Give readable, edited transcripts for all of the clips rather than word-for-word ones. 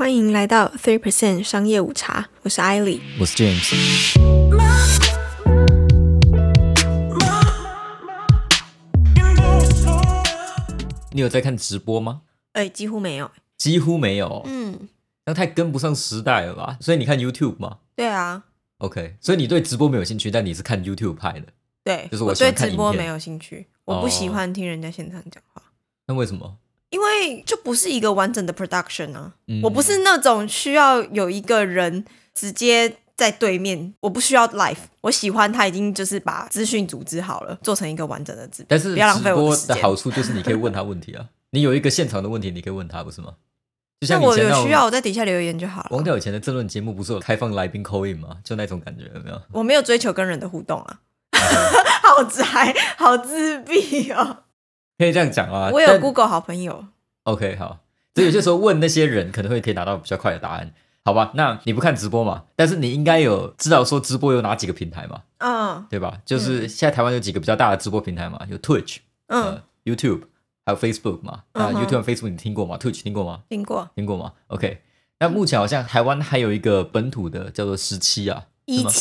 欢迎来到 3% 商业午茶，我是艾莉， 我是 James。 你有在看直播吗？ 几乎没有。 几乎没有。那太跟不上时代了吧？所以你看 YouTube 吗？ 对啊。 OK， 所以你对直播没有兴趣，但你是看 YouTube 派的。 对， 就是我喜欢看影片。 对直播没有兴趣，我不喜欢听人家现场讲话。 那为什么？ 因为就不是一个完整的 production 啊。我不是那种需要有一个人直接在对面，我不需要 live， 我喜欢他已经就是把资讯组织好了，做成一个完整的直播。 但是不要浪费我的时间。 直播的好处就是你可以问他问题啊，你有一个现场的问题你可以问他，不是吗？就像那我有需要我在底下留言就好了。 王掉以前的政论节目不是有开放来宾 call in 吗？就那种感觉，有没有？ 我没有追求跟人的互动啊。好宅，好自闭哦。 可以这样讲啊。 我有 Google 好朋友。 OK， 好。所以有些时候问那些人可能可以拿到比较快的答案，好吧？那你不看直播嘛？但是你应该有知道说直播有哪几个平台嘛？对吧？就是现在台湾有几个比较大的直播平台嘛，有 Twitch，YouTube， 还有 Facebook 嘛。YouTube 和 Facebook 你听过吗？ Twitch 听过吗？ 听过吗 ？OK。那目前好像台湾还有一个本土的叫做17啊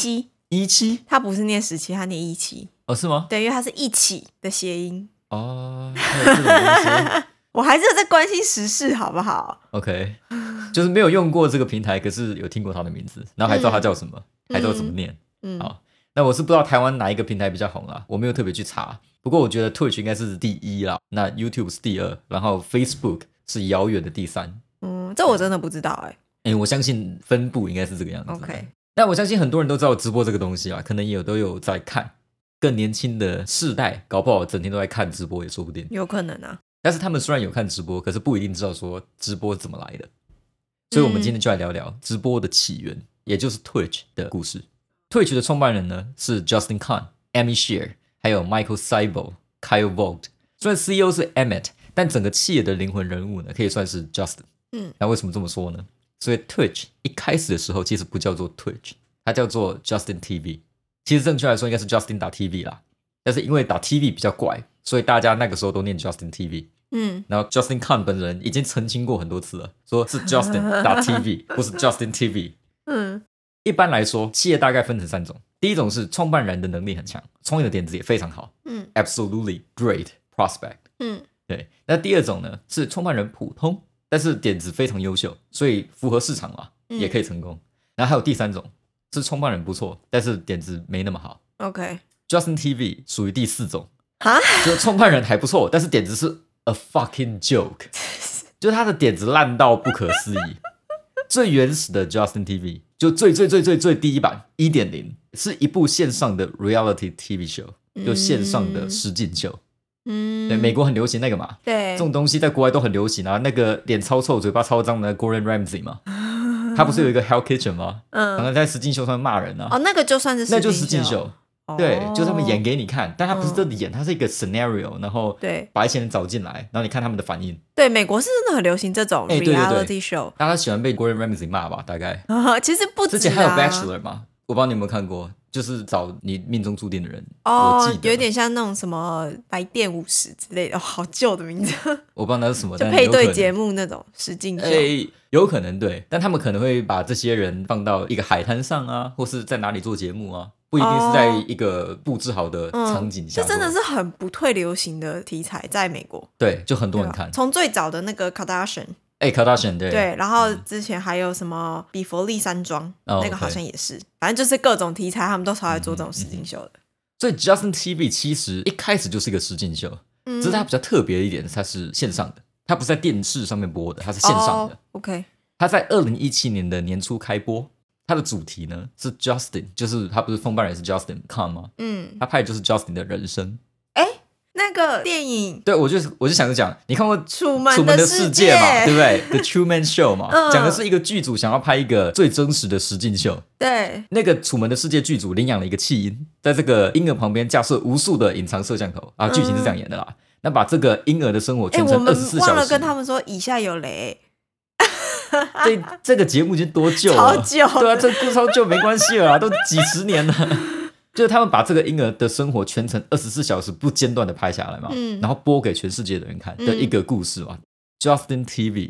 ，17，它不是念17，它念17。 哦，是吗？ 对，因为它是一起的谐音。 哦，还有这种东西。 我还是有在关心时事，好不好 ？OK， 就是没有用过这个平台，可是有听过他的名字，然后还知道他叫什么，还知道怎么念。好，那我是不知道台湾哪一个平台比较红啦，我没有特别去查。不过我觉得 Twitch 应该是第一啦，那 YouTube 是第二，然后 Facebook 是遥远的第三。 这我真的不知道我相信分布应该是这个样子。 OK， 但我相信很多人都知道直播这个东西啊，可能也都有在看。更年轻的世代搞不好整天都在看直播也说不定， 有可能啊。 但是他们虽然有看直播，可是不一定知道说直播怎么来的。所以我们今天就来聊聊直播的起源，也就是 Twitch 的故事。Twitch 的创办人呢是 Justin Kan、Amy Share 还有 Michael Seibel、Kyle Vogt。虽然 CEO 是 Emmett， 但整个企业的灵魂人物呢可以算是 Justin。那为什么这么说呢？所以 Twitch 一开始的时候其实不叫做 Twitch， 它叫做 Justin TV。其实正确来说应该是 Justin.tv 啦，但是因为打 TV 比较怪，所以大家那个时候都念 Justin TV。然后 Justin Kan 本人已经澄清过很多次了，说是 Justin.tv 不是 Justin TV。一般来说企业大概分成3种，第一种是创办人的能力很强，创业的点子也非常好，absolutely great prospect。对，那第二种呢是创办人普通，但是点子非常优秀，所以符合市场嘛，也可以成功。然后还有第3种是创办人不错，但是点子没那么好。 OK， Justin TV 属于第4种，就创办人还不错，但是点子是 a fucking joke， 就是他的点子烂到不可思议。最原始的 Justin TV 就最第一版 1.0 是一部线上的 reality TV show， 就线上的实境秀。对，美国很流行那个嘛， 对， 这种东西在国外都很流行啊。那个脸超臭、嘴巴超脏的 Gordon Ramsay 嘛，他不是有一个 Hell Kitchen 吗？常常在实境秀上骂人啊。 那个就算是实境秀， 那就是实境秀。对，就他们演给你看，但他不是真的演，他是一个 scenario， 然后把一些人找进来，然后你看他们的反应。 对，美国是真的很流行这种 reality show， 大家喜欢被 Gordon Ramsay 骂吧？大概其实不止之前还有 Bachelor 嘛，我不知道你有没有看过，就是找你命中注定的人。 我记得有点像那种什么来电50之类的，好旧的名字。 我不知道那是什么， 就配对节目那种实境秀。 有可能对，但他们可能会把这些人放到一个海滩上啊，或是在哪里做节目啊，不一定是在一个布置好的场景下。 这真的是很不退流行的题材，在美国。 对，就很多人看。 从最早的那个 Kardashian， 对， 然后之前还有什么比佛利山庄，那个好像也是，反正就是各种题材，他们都超爱做这种实境秀的。 所以 Justin TV 其实一开始就是一个实境秀，只是它比较特别一点，它是线上的。它不是在电视上面播的，它是线上的。 OK， 它在2017年的年初开播。它的主题呢是 Justin， 就是他不是创办人是 Justin Kan 吗？他拍的就是 Justin 的人生。 那个电影， 对，我就想着讲，你看过楚门的世界嘛，对不对 ？The Truman Show 嘛，讲的是一个剧组想要拍一个最真实的实境秀。 对， 那个楚门的世界剧组领养了一个弃婴，在这个婴儿旁边架设无数的隐藏摄像头啊，剧情是这样演的啦。那把这个婴儿的生活全程24小时。 我们忘了跟他们说以下有雷。 这个节目已经多旧了， 超旧。 对啊，这个超旧没关系了啦，都几十年了。就是他们把这个婴儿的生活全程24小时不间断的拍下来嘛，然后播给全世界的人看的一个故事嘛。Justin TV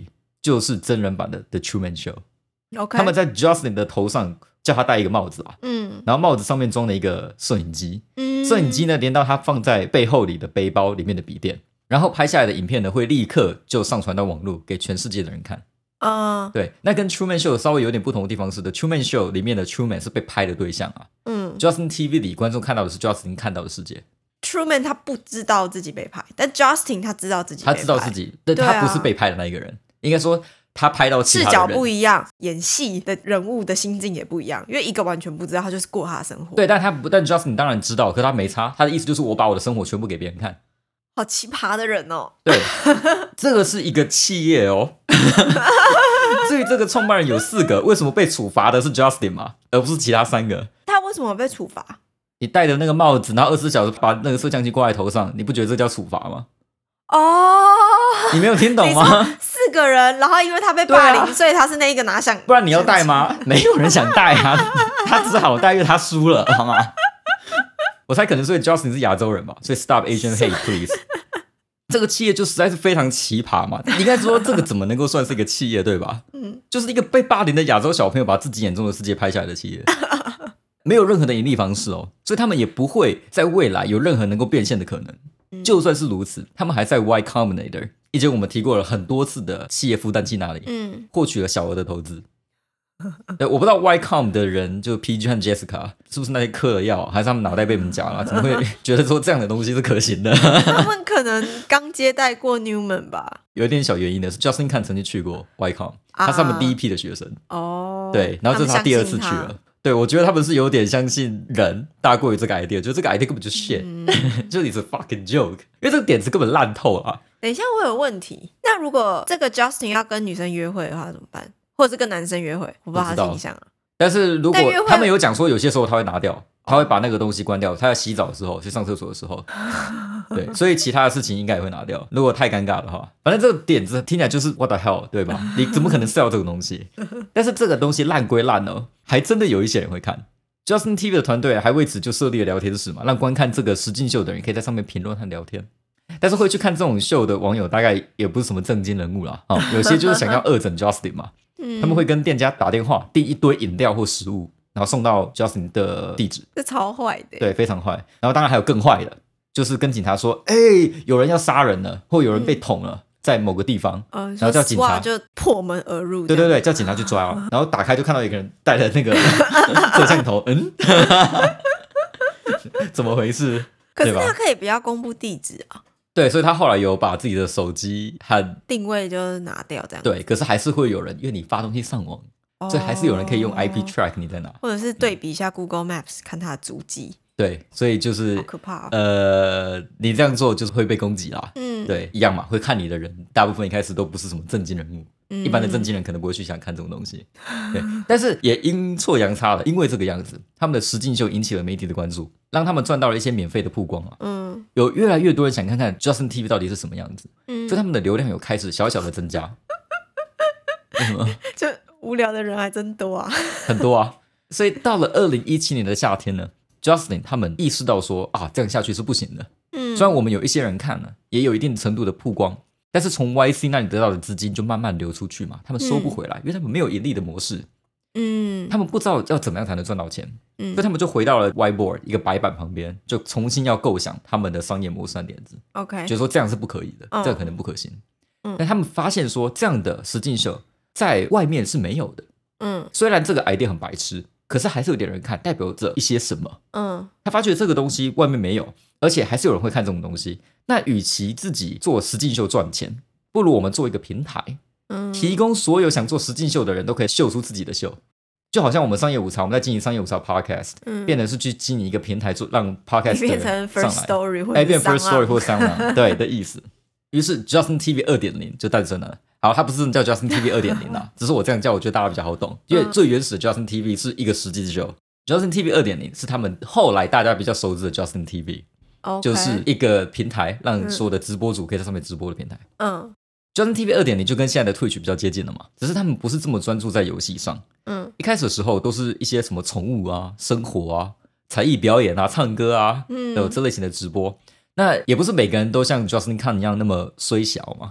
就是真人版的 The Truman Show。 OK， 他们在 Justin 的头上叫他戴一个帽子啊，然后帽子上面装了一个摄影机，摄影机呢连到他放在背后里的背包里面的笔电，然后拍下来的影片呢会立刻就上传到网络给全世界的人看。对，那跟 Truman Show 稍微有点不同的地方是的 Truman Show 里面的 Truman 是被拍的对象啊，Justin TV 里观众看到的是 Justin 看到的世界。 Truman 他不知道自己被拍，但 Justin 他知道自己被拍， 他知道自己，但他不是被拍的那一个人，应该说他拍到其他的人， 视角不一样，演戏的人物的心境也不一样，因为一个完全不知道，他就是过他的生活。 对，但 Justin 当然知道，可他没差，他的意思就是我把我的生活全部给别人看。 好奇葩的人哦。 对，这个是一个企业哦。至于这个创办人有4个，为什么被处罚的是 Justin 嘛，而不是其他3个？ 他为什么被处罚？ 你戴着那个帽子，然后24小时把那个摄像机挂在头上，你不觉得这叫处罚吗？你没有听懂吗 ？4个人，然后因为他被霸凌，所以他是那一个拿相， 不然你要戴吗？没有人想戴啊，他只好戴，因为他输了，好吗？我猜可能所以 Justin 是亚洲人吧，所以 Stop Asian Hate Please。这个企业就实在是非常奇葩嘛，你应该说这个怎么能够算是一个企业，对吧？就是一个被霸凌的亚洲小朋友把自己眼中的世界拍下来的企业，没有任何的盈利方式哦，所以他们也不会在未来有任何能够变现的可能。就算是如此，他们还在 Y Combinator， 以前我们提过了很多次的企业孵蛋器那里，获取了小额的投资。对，我不知道 Y-Com 的人就 PG 和 Jessica 是不是那些嗑了药，还是他们脑袋被我们夹了，怎么会觉得说这样的东西是可行的？ 他们可能刚接待过 Newman 吧。 有一点小原因的是 Justin Kan 曾经去过 Y-Com， 他是他们第一批的学生。对，然后这是他第2次去了。对，我觉得他们是有点相信人大过于这个 idea， 就这个 idea 根本就 shit，就你是 fucking joke， 因为这个点子根本烂透啊。 等一下，我有问题。那如果这个 Justin 要跟女生约会的话怎么办？或者是跟男生约会？我不知道他的形象啊。 但是如果他们有讲说，有些时候他会拿掉，他会把那个东西关掉。他要洗澡的时候，去上厕所的时候，对，所以其他的事情应该也会拿掉。如果太尴尬的话，反正这个点子听起来就是 what the hell， 对吧？你怎么可能 sell 这个东西？但是这个东西烂归烂哦，还真的有一些人会看。Justin TV 的团队还为此就设立了聊天室嘛，让观看这个实境秀的人可以在上面评论和聊天。但是会去看这种秀的网友大概也不是什么正经人物啦，有些就是想要恶整 Justin 嘛。他们会跟店家打电话订一堆饮料或食物，然后送到 Justin 的地址。 这超坏的。 对，非常坏。然后当然还有更坏的，就是跟警察说有人要杀人了，或有人被捅了，在某个地方，然后叫警察就破门而入。 对，叫警察去抓。然后打开就看到一个人带着那个摄像头，怎么回事？ 可是他可以不要公布地址啊。 对，所以他后来有把自己的手机和定位就拿掉这样。 对，可是还是会有人，因为你发东西上网，所以还是有人可以用 IP track 你在哪， 或者是对比一下 Google Maps 看他的足迹。 对，所以就是好可怕你这样做就是会被攻击啦。对，一样嘛，会看你的人大部分一开始都不是什么正经人物，一般的正经人可能不会去想看这种东西。对，但是也阴错阳差了，因为这个样子，他们的实境秀引起了媒体的关注，让他们赚到了一些免费的曝光啊。有越来越多人想看看 Justin TV 到底是什么样子，所以他们的流量有开始小小的增加。为什么？ 就无聊的人还真多啊， 很多啊。所以到了2017年的夏天呢，Justin 他们意识到说这样下去是不行的。虽然我们有一些人看了，也有一定程度的曝光，但是从 YC 那里得到的资金就慢慢流出去嘛，他们收不回来，因为他们没有盈利的模式。他们不知道要怎么样才能赚到钱，所以他们就回到了 Whiteboard 一个白板旁边，就重新要构想他们的商业模式和点子。觉得说这样是不可以的，这个可能不可行。但他们发现说这样的实境秀在外面是没有的。虽然这个 idea 很白痴，可是还是有点人看，代表着一些什么。他发觉这个东西外面没有，而且还是有人会看这种东西。那与其自己做实境秀赚钱，不如我们做一个平台，提供所有想做实境秀的人都可以秀出自己的秀。就好像我们商业午餐，我们在经营商业午餐 podcast，变成是去经营一个平台，做让 podcast 的人上来， 变成 First Story 或者变 First Story 或 Sound 对的意思。于是 Justin TV 2.0 就诞生了。好，它不是叫 Justin TV 2.0 啦，只是我这样叫，我觉得大家比较好懂。因为最原始的 Justin TV 是一个实际秀，Justin TV 2.0 是他们后来大家比较熟知的 Justin TV，就是一个平台，让所有的直播主可以在上面直播的平台。Justin TV 2.0 就跟现在的 Twitch 比较接近了嘛，只是他们不是这么专注在游戏上。一开始的时候都是一些什么宠物啊、生活啊、才艺表演啊、唱歌啊，有这类型的直播。那也不是每个人都像 Justin Kan 一样那么衰小嘛，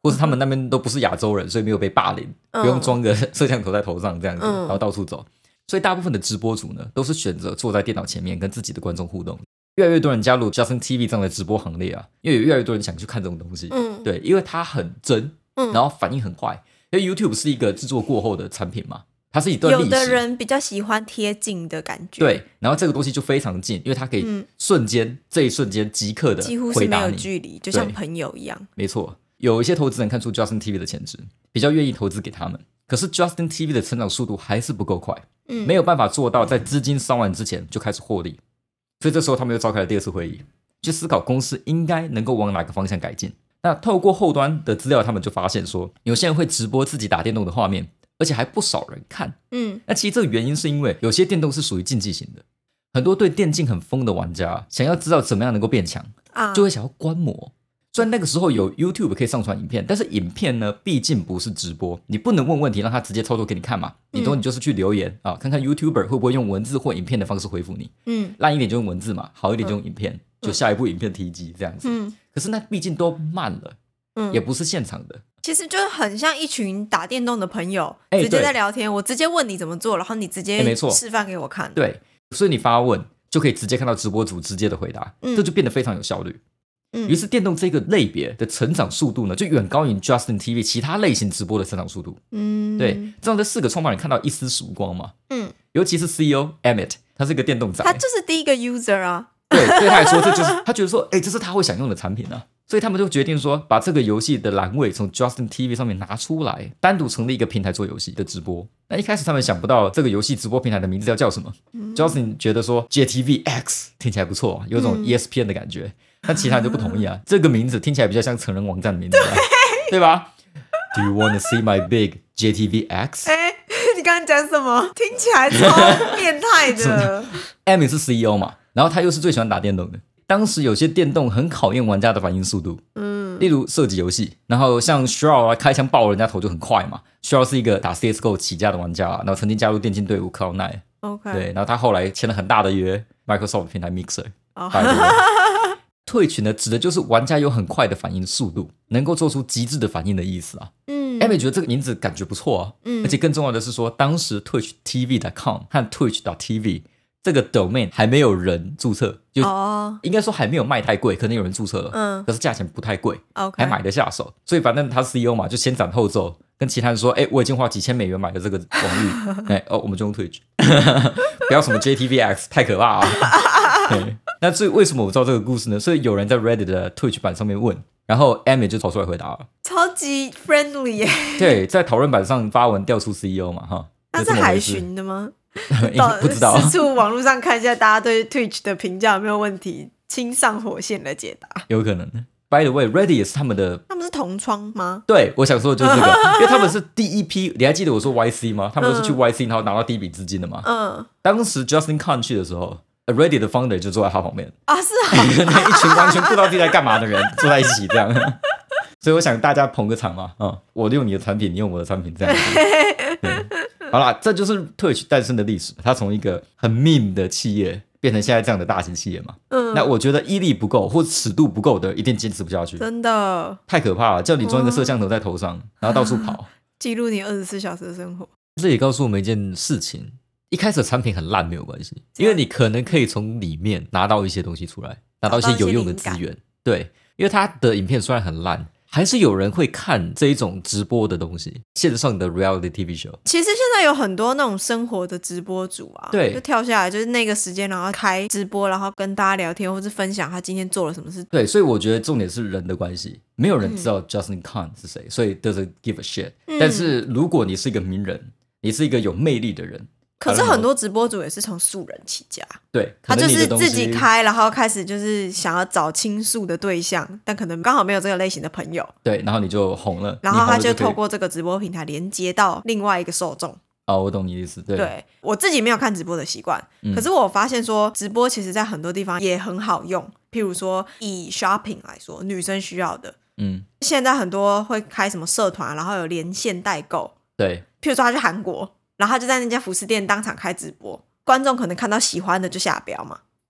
或是他们那边都不是亚洲人，所以没有被霸凌，不用装个摄像头在头上这样子，然后到处走。所以大部分的直播主呢，都是选择坐在电脑前面跟自己的观众互动。越来越多人加入 Justin TV 这样的直播行列啊，因为有越来越多人想去看这种东西。对，因为它很真，然后反应很快。因为 YouTube 是一个制作过后的产品嘛，它是一段历史。 有的人比较喜欢贴近的感觉， 对，然后这个东西就非常近，因为它可以瞬间、这一瞬间即刻的几乎是没有距离，就像朋友一样。 没错，有一些投资人看出 Justin TV 的潜质，比较愿意投资给他们。可是 Justin TV 的成长速度还是不够快，没有办法做到在资金烧完之前就开始获利。所以这时候他们又召开了第二次会议，去思考公司应该能够往哪个方向改进。那透过后端的资料，他们就发现说，有些人会直播自己打电动的画面，而且还不少人看。那其实这个原因是因为有些电动是属于竞技型的，很多对电竞很疯的玩家想要知道怎么样能够变强，就会想要观摩。虽然那个时候有 YouTube 可以上传影片，但是影片呢，毕竟不是直播，你不能问问题让他直接操作给你看嘛。你就是去留言啊，看看 YouTuber 会不会用文字或影片的方式回复你。烂一点就用文字嘛，好一点就用影片，就下一部影片提及这样子。可是那毕竟都慢了，也不是现场的。 其实就很像一群打电动的朋友，直接在聊天，我直接问你怎么做，然后你直接示范给我看。 对，所以你发问就可以直接看到直播主直接的回答，这就变得非常有效率。于是电动这个类别的成长速度呢，就远高于 Justin TV 其他类型直播的成长速度。对，这样这4个创办人看到一丝曙光嘛。尤其是 CEO Emmett， 他是个电动仔， 他就是第一个 user 啊。 对，对他来说，这就是他觉得说，这是他会想用的产品啊。所以他们就决定说，把这个游戏的栏位从 Justin TV 上面拿出来，单独成立一个平台做游戏的直播。那一开始他们想不到这个游戏直播平台的名字要叫什么。Justin 觉得说 JTVX 听起来不错，有种 ESPN 的感觉。但其他人就不同意啊，这个名字听起来比较像成人网站的名字，对吧 ？Do you want to see my big JTVX？ 你刚刚讲什么？听起来超变态的。 Emmett 是 CEO 嘛，然后他又是最喜欢打电动的。当时有些电动很考验玩家的反应速度，例如射击游戏，然后像 Shroud 开枪爆人家头就很快嘛。Shroud 是一个打 CSGO 起家的玩家，然后曾经加入电竞队伍 Cloud9。对，然后他后来签了很大的约 ，Microsoft 平台 Mixer。退群呢，指的就是玩家有很快的反应速度，能够做出极致的反应的意思啊。Emmett 觉得这个名字感觉不错啊，而且更重要的是说，当时 TwitchTV.com 和 Twitch.tv 这个 domain 还没有人注册，就应该说还没有卖太贵，可能有人注册了，可是价钱不太贵，还买得下手，所以反正他 CEO 嘛，就先斩后奏，跟其他人说，我已经花几千美元买了这个网域，我们就用 Twitch， 不要什么 JTVX 太可怕啊。对，那至于为什么我知道这个故事呢？所以有人在 Reddit 的 Twitch 版上面问，然后 Emmett 就跑出来回答了， 超级 friendly 耶。 对，在讨论版上发文调出 CEO 嘛，哈， 那是海巡的吗？ 不知道， 四处网络上看一下大家对 Twitch 的评价有没有问题，亲上火线来解答， 有可能。By the way， Reddit 也是他们是同窗吗？ 对，我想说的就是这个，因为他们是第一批，你还记得我说 YC 吗？他们都是去 YC 然后拿到第一笔资金的嘛。当时 Justin Kan 去的时候，Reddit 的 founder 就坐在他旁边啊，是啊， 一群完全不知道自己在干嘛的人坐在一起这样。所以我想大家捧个场嘛，我用你的产品，你用我的产品这样子。好啦，这就是 Twitch 诞生的历史，它从一个很 meme 的企业变成现在这样的大型企业嘛。那我觉得毅力不够或尺度不够的，一定坚持不下去。 真的太可怕了，叫你装一个摄像头在头上，然后到处跑， 记录你24小时的生活。 这也告诉我们一件事情：一开始的产品很烂没有关系，因为你可能可以从里面拿到一些东西出来，拿到一些有用的资源。对，因为它的影片虽然很烂，还是有人会看这一种直播的东西，线上的 reality TV show。 其实现在有很多那种生活的直播主啊， 对， 就跳下来就是那个时间，然后开直播，然后跟大家聊天，或是分享他今天做了什么事。 对，所以我觉得重点是人的关系，没有人知道 Justin Kan 是谁，所以 doesn't give a shit。但是如果你是一个名人，你是一个有魅力的人。 可是很多直播主也是从素人起家， 对， 他就是自己开，然后开始就是想要找倾诉的对象，但可能刚好没有这个类型的朋友， 对，然后你就红了， 然后他就透过这个直播平台连接到另外一个受众。 我懂你的意思。对， 我自己没有看直播的习惯，可是我发现说直播其实在很多地方也很好用，譬如说以 shopping 来说，女生需要的，现在很多会开什么社团，然后有连线代购， 对， 譬如说他去韩国，然后他就在那家服饰店当场开直播，观众可能看到喜欢的就下标嘛，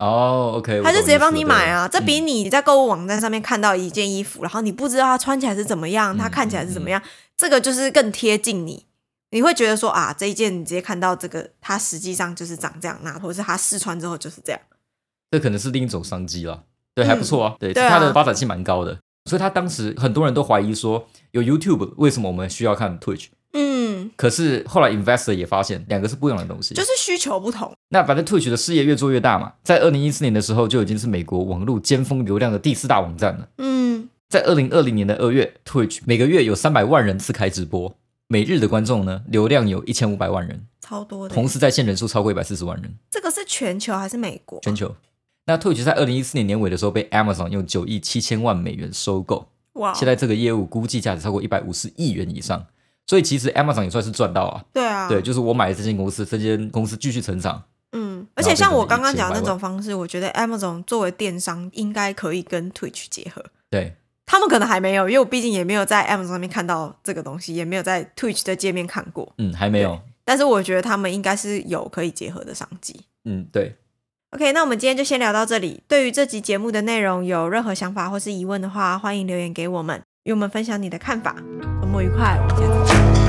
哦，OK， 他就直接帮你买啊， 对这比你在购物网站上面看到一件衣服，然后你不知道它穿起来是怎么样，它看起来是怎么样，这个就是更贴近你。你会觉得说啊，这一件你直接看到这个，它实际上就是长这样，那或者是它试穿之后就是这样。 这可能是另一种商机啦，对，还不错啊，对， 对啊它的发展性蛮高的，所以他当时很多人都怀疑说，有 YouTube 为什么我们需要看 Twitch？可是后来 investor 也发现两个是不一样的东西， 就是需求不同。 那反正 Twitch 的事业越做越大嘛，在2014年的时候就已经是美国网络尖峰流量的第4大网站了。在2020年的2月 ，Twitch 每个月有300万人次开直播，每日的观众呢流量有1500万人， 超多的。 同时在线人数超过140万人。 这个是全球还是美国？ 全球。那 Twitch 在2014年年尾的时候被 Amazon 用9亿7千万美元收购， 哇！ 现在这个业务估计价值超过150亿元以上，所以其实 Amazon 也算是赚到啊。 对啊， 对，就是我买了这间公司，这间公司继续成长。 而且像我刚刚讲的那种方式，我觉得 Amazon 作为电商应该可以跟 Twitch 结合。 对， 他们可能还没有，因为我毕竟也没有在 Amazon 上面看到这个东西，也没有在 Twitch 的界面看过。 还没有。 但是我觉得他们应该是有可以结合的商机。 对。 OK， 那我们今天就先聊到这里。对于这集节目的内容有任何想法或是疑问的话，欢迎留言给我们，与我们分享你的看法。周末愉快，我们下次见。